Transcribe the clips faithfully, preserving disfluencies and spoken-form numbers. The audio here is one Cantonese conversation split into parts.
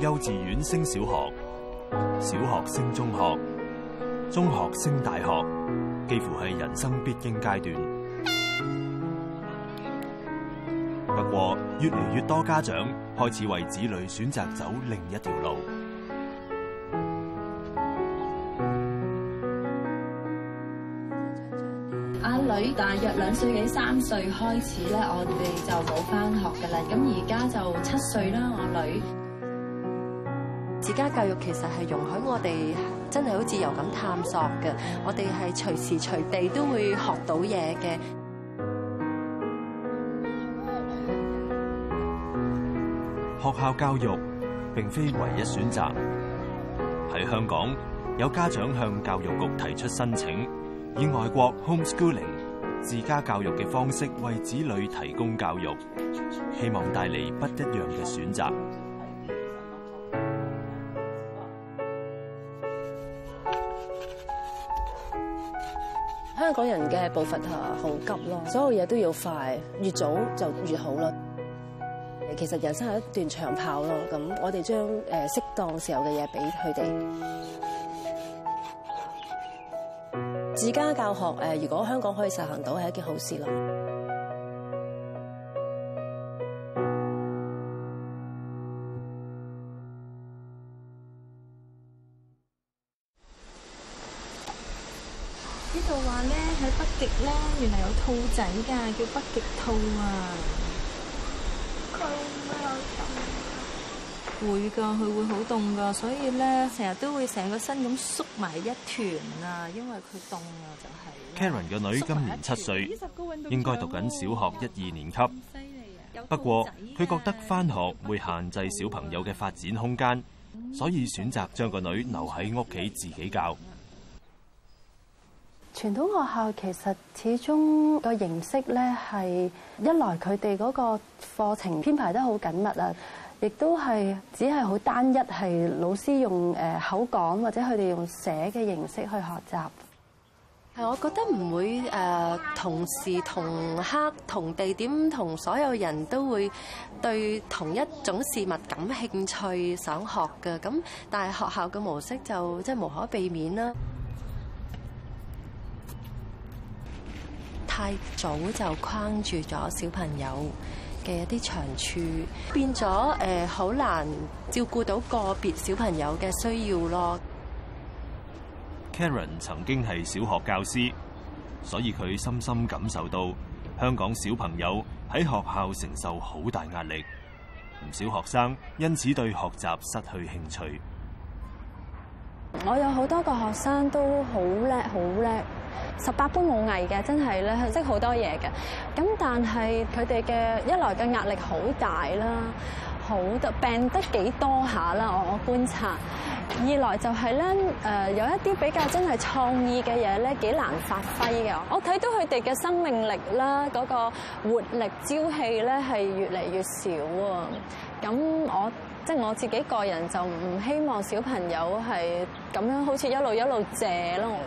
幼稚園升小學，小學升中學，中學升大學，幾乎係人生必經階段。不過，越嚟越多家長開始為子女選擇走另一條路。 阿女大約兩歲幾三歲開始咧，我哋就冇返學㗎啦。咁而家就七歲啦，我女。 自家教育其實係容許我哋真係好自由咁探索嘅，我哋係隨時隨地都會學到嘢嘅。 學校教育並非唯一選擇。喺香港，有家長向教育局提出申請，以外國 homeschooling 自家教育嘅方式為子女提供教育，希望帶嚟不一樣嘅選擇。 香港人嘅步伐好急咯，所有嘢都要快，越早就越好咯。其實人生係一段長跑咯，咁我哋將誒適當時候嘅嘢俾佢哋。自家教學誒，如果香港可以實行到，係一件好事咯。 呢度話咧喺北極咧，原來有兔仔㗎，叫北極兔啊！ 佢會有凍？ 會㗎，佢會好凍㗎，所以咧成日都會成個身咁縮埋一團啊，因為佢凍啊，就係。 Karen 嘅女今年七歲，應該讀緊小學一二年級。不過佢覺得返學會限制小朋友嘅發展空間，所以選擇將個女留喺屋企自己教。 傳統學校其實始終個形式咧係一來佢哋嗰個課程編排得好緊密啊，亦都係只係好單一，係老師用誒口講或者佢哋用寫嘅形式去學習。係，我覺得唔會誒同時同刻同地點同所有人都會對同一種事物感興趣想學嘅，咁但係學校嘅模式就即係無可避免啦。太早就框住咗小朋友嘅一啲長處，變咗誒好難照顧到個別小朋友嘅需要咯。 Karen 曾經係小學教師，所以佢深深感受到香港小朋友喺學校承受好大壓力，唔少學生因此對學習失去興趣。 我有好多個學生都好叻，好叻。十八般武藝嘅，真係咧識好多嘢嘅。咁但係佢哋嘅一來嘅壓力好大啦，好得病得幾多下啦。我我觀察，二來就係咧誒有一啲比較真係創意嘅嘢咧，幾難發揮嘅。我睇到佢哋嘅生命力啦，嗰個活力朝氣咧係越嚟越少啊。咁我即係我自己個人就唔希望小朋友係咁樣好似一路一路借咯。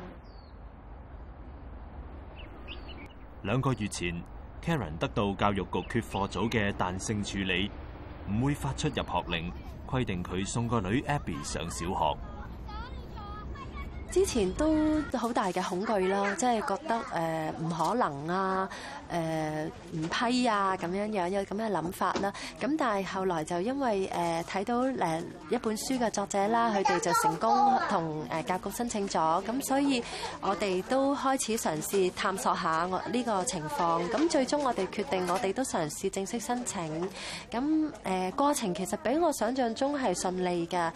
兩個月前 ，Karen 得到教育局缺課組嘅彈性處理，唔會發出入學令，規定佢送個女 Abby 上小學。 之前都好大嘅恐懼啦，即係覺得誒唔可能啊，誒唔批啊咁樣樣有咁嘅諗法啦。咁但係後來就因為誒睇到誒一本書嘅作者啦，佢哋就成功同誒教育局申請咗，咁所以我哋都開始嘗試探索下我呢個情況。咁最終我哋決定，我哋都嘗試正式申請。咁誒過程其實比我想象中係順利㗎。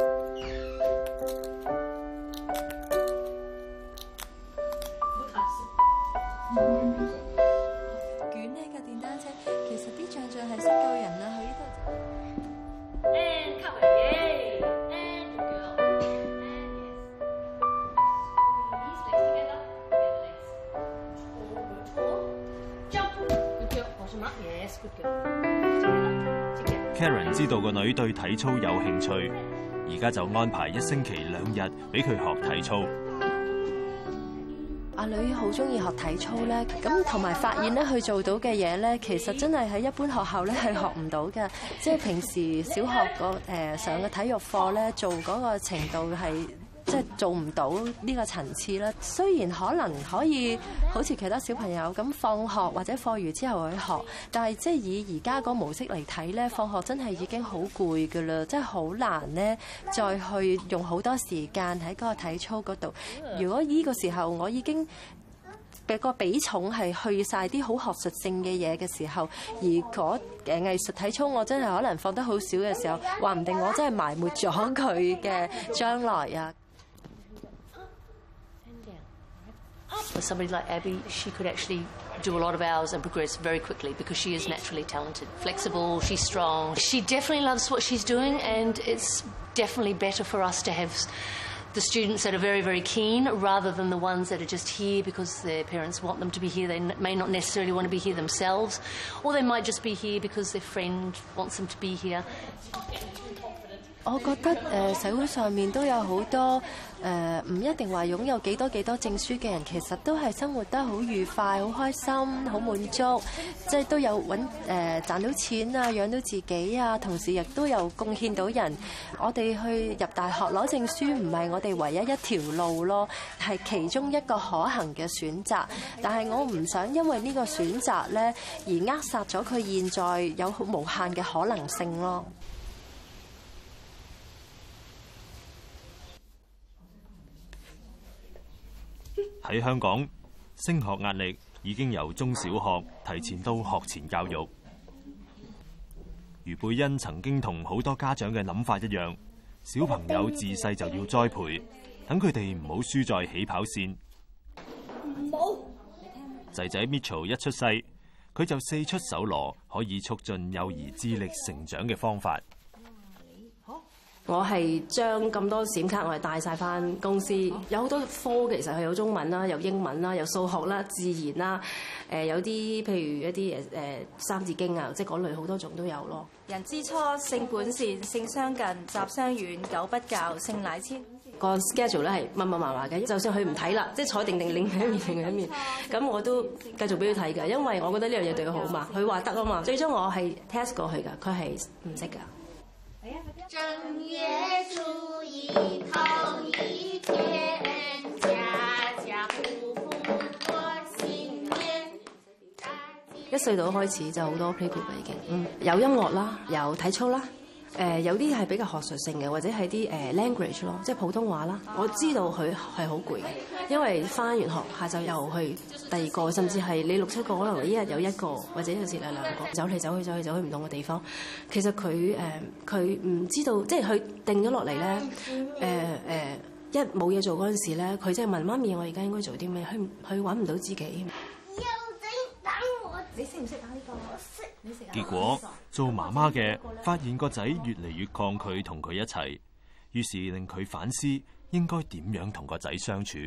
捲呢架電單車，其實啲象象係識救人啦，佢呢度。 And cut my yay. And good girl. And yes. Release legs together. Together legs. Jump. Good girl. Awesome up. Yes. Good girl. Together. Karen 知道個女對體操有興趣，而家就安排一星期兩日俾佢學體操。 阿女好中意學體操咧，咁同埋發現咧，佢做到嘅嘢咧，其實真係喺一般學校咧係學唔到嘅。即係平時小學個誒上嘅體育課咧，做嗰個程度係即係做唔到呢個層次啦。雖然可能可以好似其他小朋友咁放學或者課餘之後去學，但係即係以而家個模式嚟睇咧，放學真係已經好攰㗎啦，真係好難咧再去用好多時間喺嗰個體操嗰度。如果呢個時候我已經嘅個比重係去晒啲好學術性嘅嘢嘅時候，而嗰誒藝術體操我真係可能放得好少嘅時候，話唔定我真係埋沒咗佢嘅將來啊！ For somebody like Abby, she could actually do a lot of hours and progress very quickly because she is naturally talented, flexible, she's strong. She definitely loves what she's doing, and it's definitely better for us to have the students that are very, very keen rather than the ones that are just here because their parents want them to be here. They may not necessarily want to be here themselves, or they might just be here because their friend wants them to be here. 我覺得誒社會上面都有好多誒唔一定話擁有幾多幾多證書嘅人，其實都係生活得好愉快、好開心、好滿足，即係都有揾誒、呃、賺到錢啊、養到自己啊，同時亦都有貢獻到人。我哋去入大學攞證書唔係我哋唯一一條路咯，係其中一個可行嘅選擇。但係我唔想因為呢個選擇咧而扼殺咗佢現在有無限嘅可能性咯。 喺香港，升學壓力已經由中小學提前到學前教育。余貝欣曾經同好多家長嘅諗法一樣，小朋友自細就要栽培，等佢哋唔好輸在起跑線。仔仔 Mitchell 一出世，佢就四出搜羅可以促進幼兒智力成長嘅方法。 我係將咁多閃卡我係帶晒翻公司，有好多科其實係有中文啦，有英文啦，有數學啦、自然啦，誒有啲譬如一啲誒誒三字經啊，即係嗰類好多種都有咯。 人之初，性本善，性相近，習相遠，久不教，性乃遷。 個 schedule 咧係密密麻麻嘅，就算佢唔睇啦，即係坐定定另一面另一面，咁我都繼續俾佢睇㗎，因為我覺得呢樣嘢對佢好嘛，佢話得啊嘛。最終我係 test 過去㗎，佢係唔識㗎。 正月初一頭一天，家家戶戶過新年。 一歲到開始就好多 playgroup 啦，已經，嗯，有音樂啦，有體操啦，誒、呃、有啲係比較學術性嘅，或者係啲誒 language 咯，即係普通話啦。我知道佢係好攰嘅，因為翻完學下晝又去第二個，甚至係你六七個，可能你一日有一個，或者有時兩兩個，走嚟走去走去走去唔同嘅地方。其實佢誒佢唔知道，即係佢定咗落嚟咧，誒、呃、誒、呃、一冇嘢做嗰陣時咧，佢即係問媽咪：我而家應該做啲咩？佢佢揾唔到自己。 你識唔識打呢個？我識。你識。 結果做媽媽嘅發現個仔越嚟越抗拒同佢一齊，於是令佢反思應該點樣同個仔相處。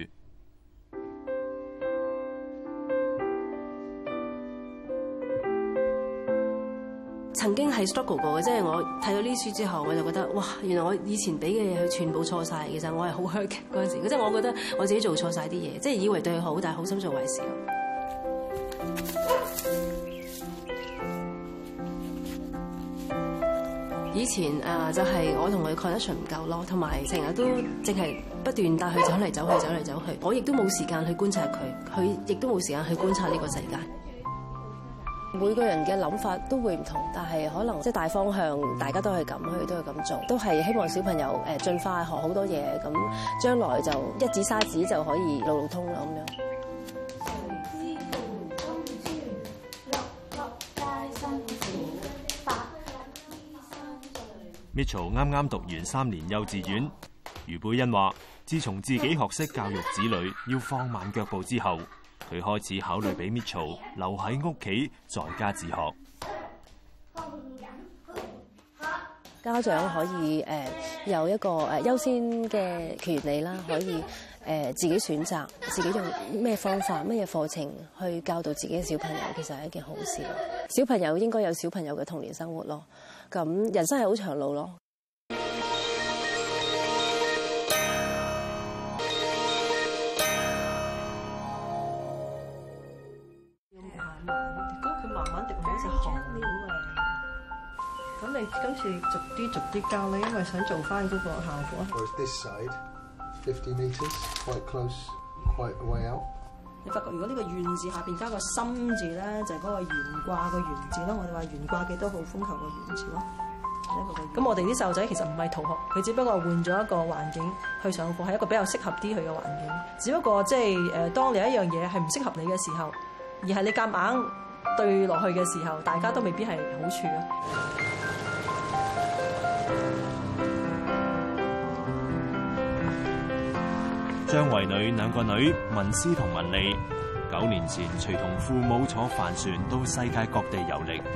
曾經係 struggle 過嘅，即係我睇到呢書之後，我就覺得哇，原來我以前俾嘅嘢佢全部錯晒。其實我係好 hurt 嘅嗰陣時，即係我覺得我自己做錯晒啲嘢，即係以為對佢好，但係好心做壞事。以前啊，就係我同佢 connection 唔夠咯，同埋成日都淨係不斷帶佢走嚟走去走嚟走去，我亦都冇時間去觀察佢，佢亦都冇時間去觀察呢個世界。每個人嘅諗法都會唔同，但係可能即係大方向大家都係咁，佢都係咁做，都係希望小朋友誒盡快學好多嘢，咁將來就一指沙子就可以路路通啦咁樣。 Mitchell 啱啱讀完三年幼稚園，余貝欣話：自從自己學識教育子女要放慢腳步之後，佢開始考慮俾 Mitchell 留喺屋企在家自學。 家長可以誒有一個誒優先嘅權利啦，可以誒自己選擇自己用咩方法、咩嘢課程去教導自己嘅小朋友，其實係一件好事。小朋友應該有小朋友嘅童年生活咯。咁人生係好長路咯。 咁你今次逐啲逐啲教咧，因為想做翻嗰個效果。 Whereas this side, fifty meters, quite close, quite a way out. 你發覺如果呢個願字下邊加個心字咧，就係、是、嗰個懸掛個懸字咯。我哋話懸掛幾多號風球個懸字咯。咁我哋啲細路仔其實唔係逃學，佢只不過換咗一個環境去上課，係一個比較適合啲佢嘅環境。只不過即係誒，當你有一樣嘢係唔適合你嘅時候，而係你夾硬對落去嘅時候，大家都未必係好處咯。 張惠女兩個女文思同文莉，九年前隨同父母坐帆船到世界各地遊歷。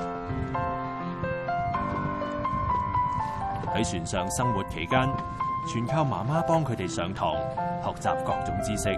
喺船上生活期間，全靠媽媽幫佢哋上堂，學習各種知識。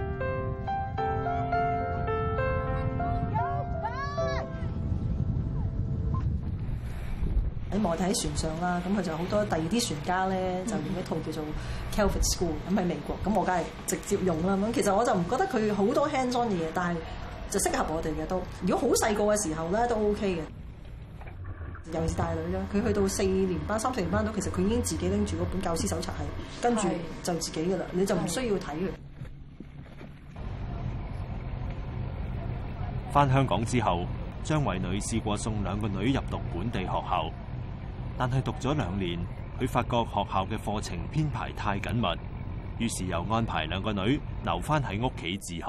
喺我哋喺船上啦，咁佢就好多第二啲船家咧，就用一套叫做 Calvert School，咁喺美國，咁我梗係直接用啦。咁其實我就唔覺得佢好多 hands-on 嘅嘢，但係就適合我哋嘅都。如果好細個嘅時候咧，都 OK 嘅。尤其是大女啦，佢去到四年班、三四年班到，其實佢已經自己拎住嗰本教師手冊係跟住就自己噶啦，你就唔需要睇佢。 返香港之後，張惠女試過送兩個女入讀本地學校，但係讀咗兩年，佢發覺學校嘅課程編排太緊密，於是又安排兩個女留返喺屋企自學。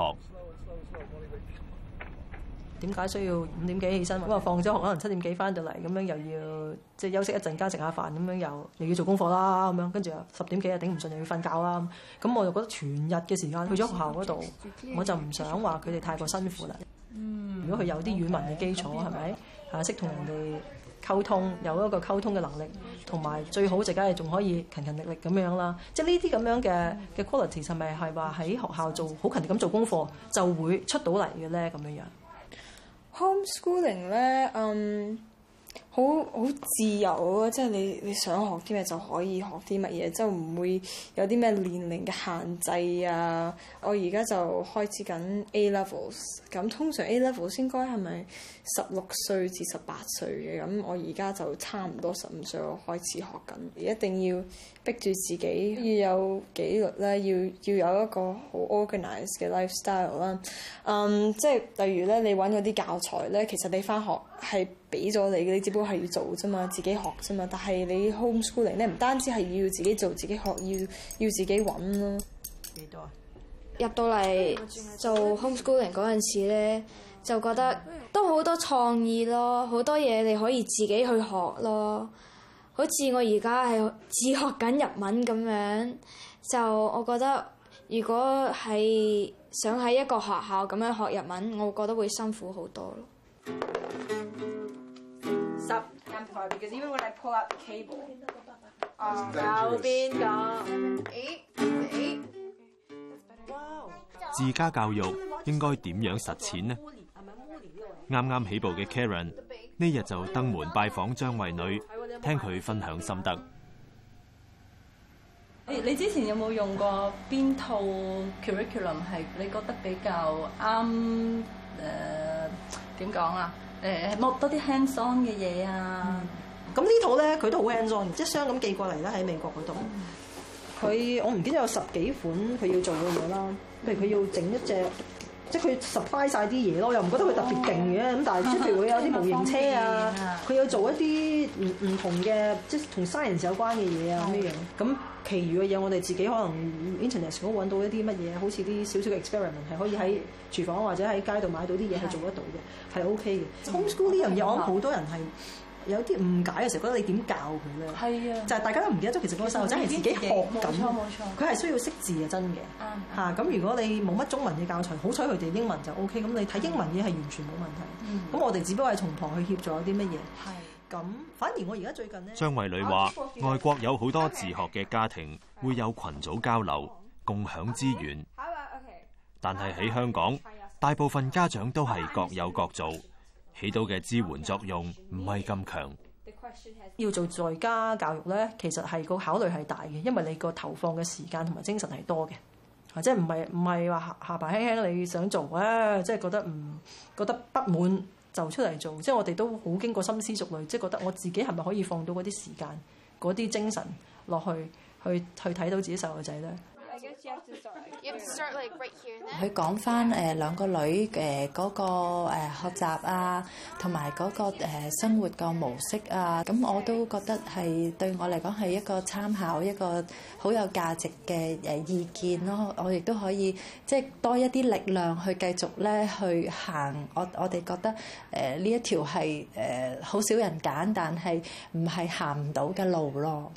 點解需要五點幾起身？咁啊放咗學可能七點幾翻到嚟，咁樣又要即係休息一陣間食下飯，咁樣又又要做功課啦，咁樣跟住啊十點幾啊頂唔順又要瞓覺啦。咁我就覺得全日嘅時間去咗學校嗰度，我就唔想話佢哋太過辛苦啦。嗯，如果佢有啲語文嘅基礎，係咪啊識同人哋溝通，有一個溝通嘅能力，同埋最好就梗係仲可以勤勤力力咁樣啦。即係呢啲咁樣嘅嘅 quality 係咪係話喺學校做好勤力咁做功課就會出到嚟嘅咧？咁樣樣。 Homeschooling 咧，嗯，好好自由咯，即係你你想學啲咩就可以學啲乜嘢，即係唔會有啲咩年齡嘅限制啊。我而家就開始緊 A levels， 咁通常 A levels 應該係咪十六歲至十八歲嘅？咁我而家就差唔多十五歲，我開始學緊，一定要逼住自己要有紀律啦，要要有一個好 organized 嘅 lifestyle 啦。嗯，即係例如咧，你揾嗰啲教材咧，其實你翻學係俾咗你嘅，你只不過係要做啫嘛，自己學啫嘛。但係你 homeschooling 咧，唔單止係要自己做、自己學，要要自己揾咯。 幾多啊？ 入到嚟做 homeschooling 嗰陣時咧，就覺得都好多創意咯，好多嘢你可以自己去學咯。好似我而家係自學緊日文咁樣，就我覺得如果係想喺一個學校咁樣學日文，我覺得會辛苦好多咯。 十 amplify because even when I pull out the cable， 右邊個eight eight。 自家教育應該點樣實踐呢？啱啱起步嘅 Karen 呢日就登門拜訪張惠女，聽佢分享心得。 你你之前有冇用過邊套 curriculum 係你覺得比較啱？誒點講啊？誒摸多啲 hands on 嘅嘢啊？ 咁、嗯、呢套咧佢都好 hands on，即係箱咁寄過嚟啦喺美國嗰度。佢、嗯、我唔記得有十幾款佢要做嘅嘢啦，譬如佢要整一隻。即係佢 supply 曬啲嘢咯，又唔覺得佢特別勁嘅，咁、哦、但係即係譬如佢有啲模型車啊，佢要做一啲唔唔同嘅，即係同 science 有關嘅嘢啊咁樣樣。咁其餘嘅嘢我哋自己可能 internet 嗰度揾到一啲乜嘢，好似啲少少嘅 experiment 係可以喺廚房或者喺街度買到啲嘢係做得到嘅，係 OK 嘅。Homeschool 呢樣嘢我諗好多人係有啲誤解嘅時候，覺得你點教佢咧？係啊，就係、是、大家都唔記得咗，其實個細路仔係自己學緊，佢係需要識字嘅真嘅嚇。咁、嗯、如果你冇乜中文嘅教材，好彩佢哋英文就 O K。咁你睇英文嘢係完全冇問題。咁、嗯、我哋只不過係從旁去協助啲乜嘢。係咁，反而我而家最近咧， 張惠女話：外國有好多自學嘅家庭會有群組交流，共享資源。但係喺香港，大部分家長都係各有各做。起到嘅支援作用唔係咁強。 要做在家教育咧，其實係個考慮係大嘅，因為你個投放嘅時間同埋精神係多嘅，或者唔係唔係話下巴輕輕你想做啊，即係覺得唔覺得不滿就出嚟做，即係我哋都好經過深思熟慮，即係覺得我自己係咪可以放到嗰啲時間、嗰啲精神落去，去去睇到自己細路仔咧。 佢講翻誒兩個女誒嗰個誒學習啊，同埋嗰個誒生活個模式啊，咁我都覺得係對我嚟講係一個參考，一個好有價值嘅誒意見咯。我亦都可以即係多一啲力量去繼續咧去行。我我哋覺得誒呢一條係誒好少人揀，但係唔係行唔到嘅路咯。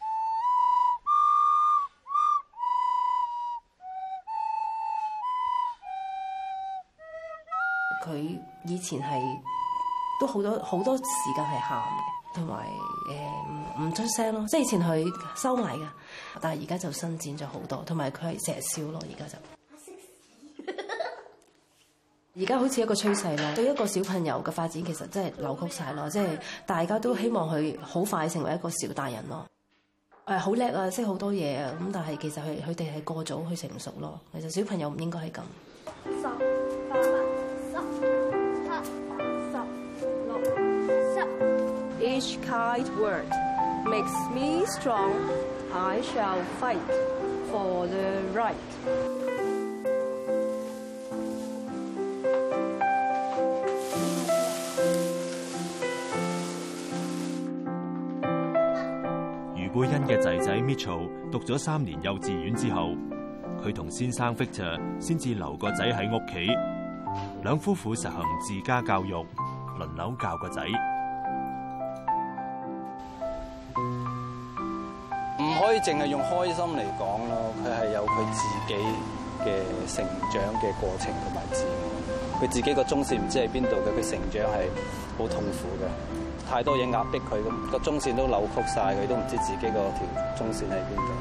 佢以前係都好多好多時間係喊嘅，同埋誒唔唔出聲咯。即係以前佢收埋嘅，但係而家就伸展咗好多，同埋佢係成日笑咯。而家就而家好似一個趨勢咯。對一個小朋友嘅發展其實真係扭曲晒咯。即係大家都希望佢好快成為一個小大人咯。誒好叻啊，識好多嘢啊。咁但係其實佢佢哋係過早去成熟咯。其實小朋友唔應該係咁。 Each kind word makes me strong. I shall fight for the right. 余貝欣嘅仔仔 Mitchell 讀咗三年幼稚園之後，佢同先生 Victor 先至留個仔喺屋企，兩夫婦實行自家教育，輪流教個仔。 唔可以淨係用開心嚟講咯，佢係有佢自己嘅成長嘅過程同埋自我。佢自己個中線唔知喺邊度嘅，佢成長係好痛苦嘅，太多嘢壓迫佢，咁個中線都扭曲晒，佢都唔知自己個條中線喺邊度。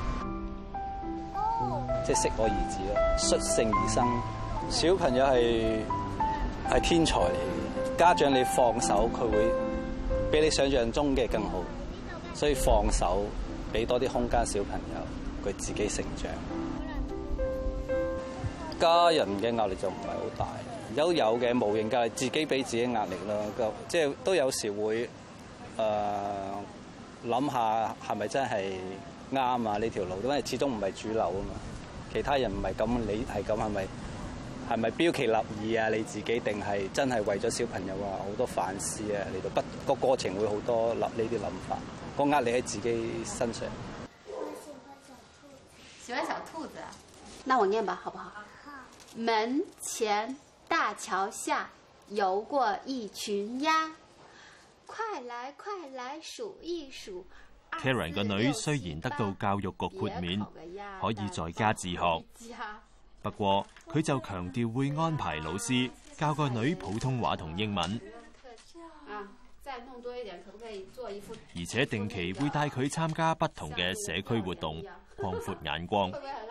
即係適可而止咯，率性而生。小朋友係係天才嚟嘅，家長你放手，佢會比你想象中嘅更好，所以放手。俾多啲空間小朋友，佢自己成長。家人嘅壓力就唔係好大，有有嘅無形嘅自己俾自己壓力咯。即係都有時會誒諗下係咪真係啱啊呢條路，因為始終唔係主流啊嘛。其他人唔係咁，你係咁係咪係咪標奇立異啊？你自己定係真係為咗小朋友啊好多反思啊？嚟到不個過程會好多立呢啲諗法。個壓力喺自己身上。 喜歡小兔子啊？那我念吧，好不好？門前大橋下游過一群鴨，快來快來數一數。 Karen 個女雖然得到教育局豁免，可以在家自學，不過佢就強調會安排老師教個女普通話同英文。而且定期會帶佢參加不同嘅社區活動，擴闊眼光。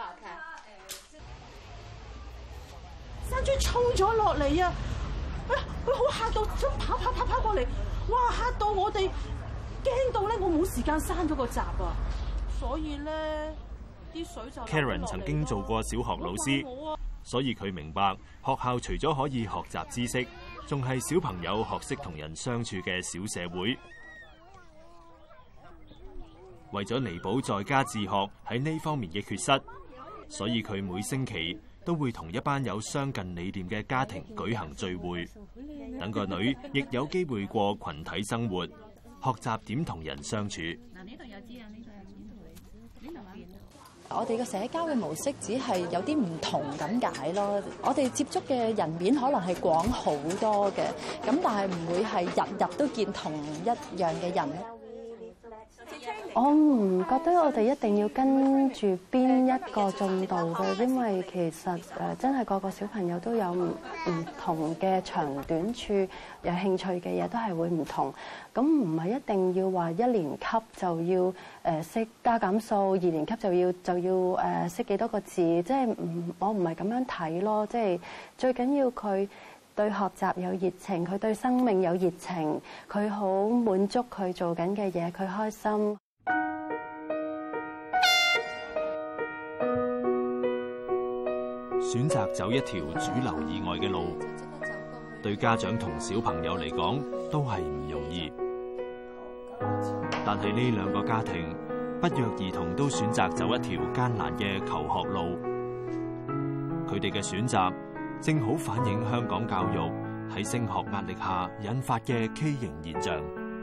山豬衝咗落嚟啊！哎呀，佢好嚇到，想跑跑跑跑過嚟，哇！嚇到我哋驚到咧，我冇時間閂咗個閘啊！所以咧，啲水就 Karen 曾經做過小學老師，所以佢明白學校除咗可以學習知識，仲係小朋友學識同人相處嘅小社會。為咗彌補在家自學喺呢方面嘅缺失，所以佢每星期都會同一班有相近理念嘅家庭舉行聚會，等個女亦有機會過群體生活，學習點同人相處。 我哋嘅社交嘅模式只係有啲唔同咁解咯。我哋接觸嘅人面可能係廣好多嘅，咁但係唔會係日日都見同一樣嘅人。 我唔覺得我哋一定要跟住邊一個進度嘅，因為其實誒真係個個小朋友都有唔唔同嘅長短處，有興趣嘅嘢都係會唔同。咁唔係一定要話一年級就要誒識加減數，二年級就要就要誒識幾多個字，即係唔我唔係咁樣睇咯。即係最緊要佢對學習有熱情，佢對生命有熱情，佢好滿足佢做緊嘅嘢，佢開心。 選擇走一條主流以外嘅路， 對家長同小朋友嚟講都係唔容易。但係呢兩個家庭不約而同都選擇走一條艱難嘅求學路，佢哋嘅選擇正好反映香港教育喺升學壓力下引發嘅畸形現象。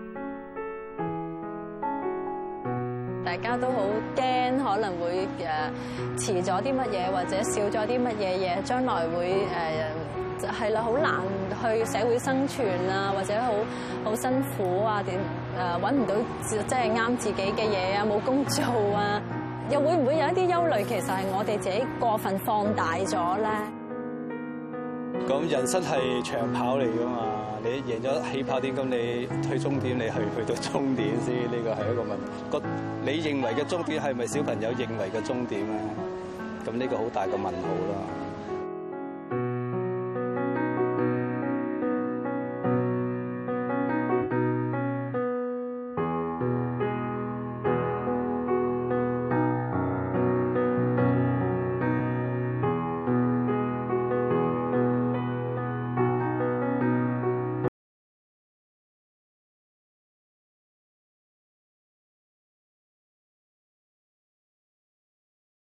大家都好驚可能會誒遲咗啲乜嘢，或者少咗啲乜嘢嘢，將來會誒係啦，好難去社會生存啊，或者好好辛苦啊，點誒揾唔到即係啱自己嘅嘢啊，冇工做啊，又會唔會有一啲憂慮？其實係我哋自己過分放大咗咧。 咁人生係長跑嚟㗎嘛，你贏咗起跑點，咁你去終點，你去去到終點先，呢個係一個問題。個你認為嘅終點係咪小朋友認為嘅終點咧？咁呢個好大嘅問號啦。